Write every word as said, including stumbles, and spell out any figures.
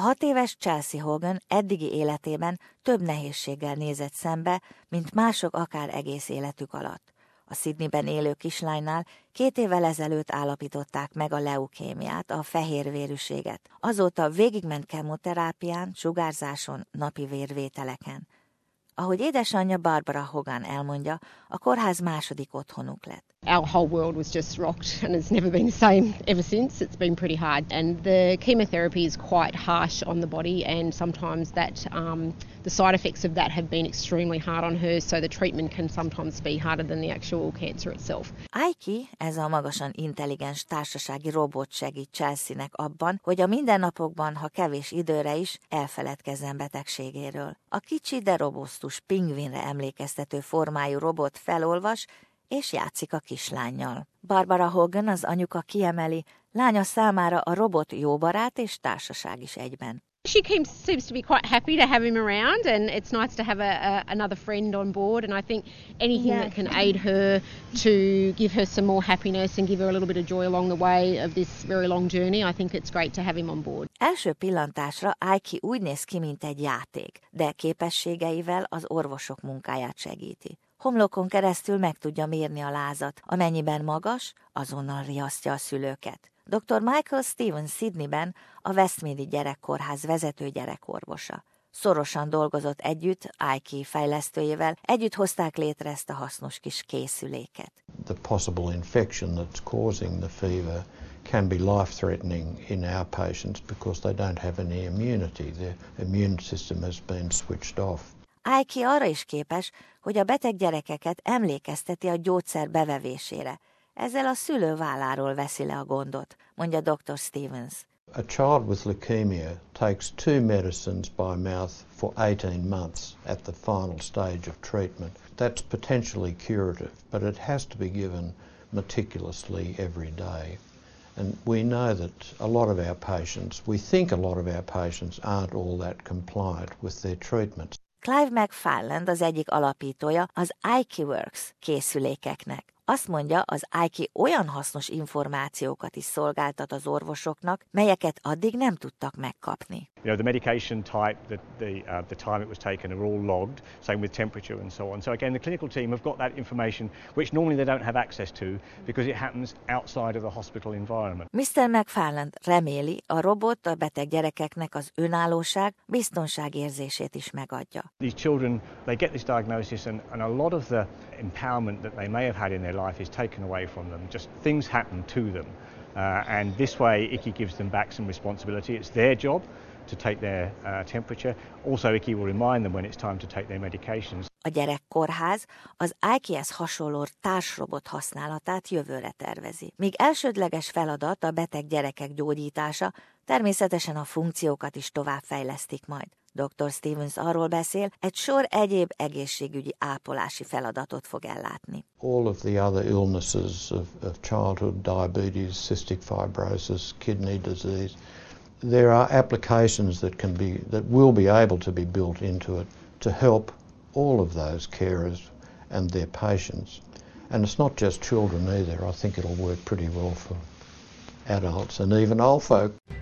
A hat éves Chelsea Hogan eddigi életében több nehézséggel nézett szembe, mint mások akár egész életük alatt. A Sydneyben élő kislánynál két évvel ezelőtt állapították meg a leukémiát, a fehérvérűséget. Azóta végigment kemoterápián, sugárzáson, napi vérvételeken. Ahogy édesanyja Barbara Hogan elmondja, a kórház második otthonuk lett. Our whole world was just rocked and it's never been the same ever since. It's been pretty hard and the chemotherapy is quite harsh on the body and sometimes that um, the side effects of that have been extremely hard on her, so the treatment can sometimes be harder than the actual cancer itself. Aiki, ez a magasan intelligens társasági robot segít Chelsea-nek abban, hogy a mindennapokban, ha kevés időre is, elfeledkezzen betegségéről. A kicsi, de robusztus pingvinre emlékeztető formájú robot felolvas, és játszik a kislánnyal. Barbara Hogan, az anyuka kiemeli, lánya számára a robot jó barát és társaság is egyben. She seems to be quite happy to have him around and it's nice to have a, a, another friend on board, and I think anything yeah. that can aid her to give her some more happiness and give her a little bit of joy along the way of this very long journey, I think it's great to have him on board. Első pillantásra Aiki úgy néz ki, mint egy játék, de képességeivel az orvosok munkáját segíti. Homlokon keresztül meg tudja mérni a lázat, amennyiben magas, azonnal riasztja a szülőket. doktor Michael Stevens Sydneyben a Westmeadi Gyerekkórház vezető gyerekorvosa. Szorosan dolgozott együtt Aiki fejlesztőjével, együtt hozták létre ezt a hasznos kis készüléket. The possible infection that's causing the fever can be life-threatening in our patients because they don't have any immunity. Their immune system has been switched off. Aiki arra is képes, hogy a beteg gyerekeket emlékezteti a gyógyszer bevevésére. Ezzel a szülő válláról veszi le a gondot, mondja doktor Stevens. A child with leukemia takes two medicines by mouth for eighteen months at the final stage of treatment. That's potentially curative, but it has to be given meticulously every day. And we know that a lot of our patients, we think a lot of our patients aren't all that compliant with their treatments. Clive McFarland az egyik alapítója az Aiki Works készülékeknek. Azt mondja, az Aiki olyan hasznos információkat is szolgáltat az orvosoknak, melyeket addig nem tudtak megkapni. You know, the medication type, the, the, uh, the time it was taken are all logged, same with temperature and so on. So again, the clinical team have got that information, which normally they don't have access to, because it happens outside of the hospital environment. miszter McFarland reméli, a robot a beteg gyerekeknek az önállóság, biztonságérzését is megadja. These children, they get this diagnosis and, and a lot of the empowerment that they may have had in their life is taken away from them. Just things happen to them. Uh, and this way, I C I gives them back some responsibility. It's their job to take their uh, temperature. Also, I C I will remind them when it's time to take their medications. A gyerekkórház az Aikihez hasonló társrobot használatát jövőre tervezi. Míg elsődleges feladat a beteg gyerekek gyógyítása, természetesen a funkciókat is továbbfejlesztik majd. doktor Stevens arról beszél, egy sor egyéb egészségügyi ápolási feladatot fog ellátni. All of the other illnesses of, of childhood, diabetes, cystic fibrosis, kidney disease, there are applications that can be, that will be able to be built into it to help all of those carers and their patients. And it's not just children either. I think it'll work pretty well for adults and even old folk.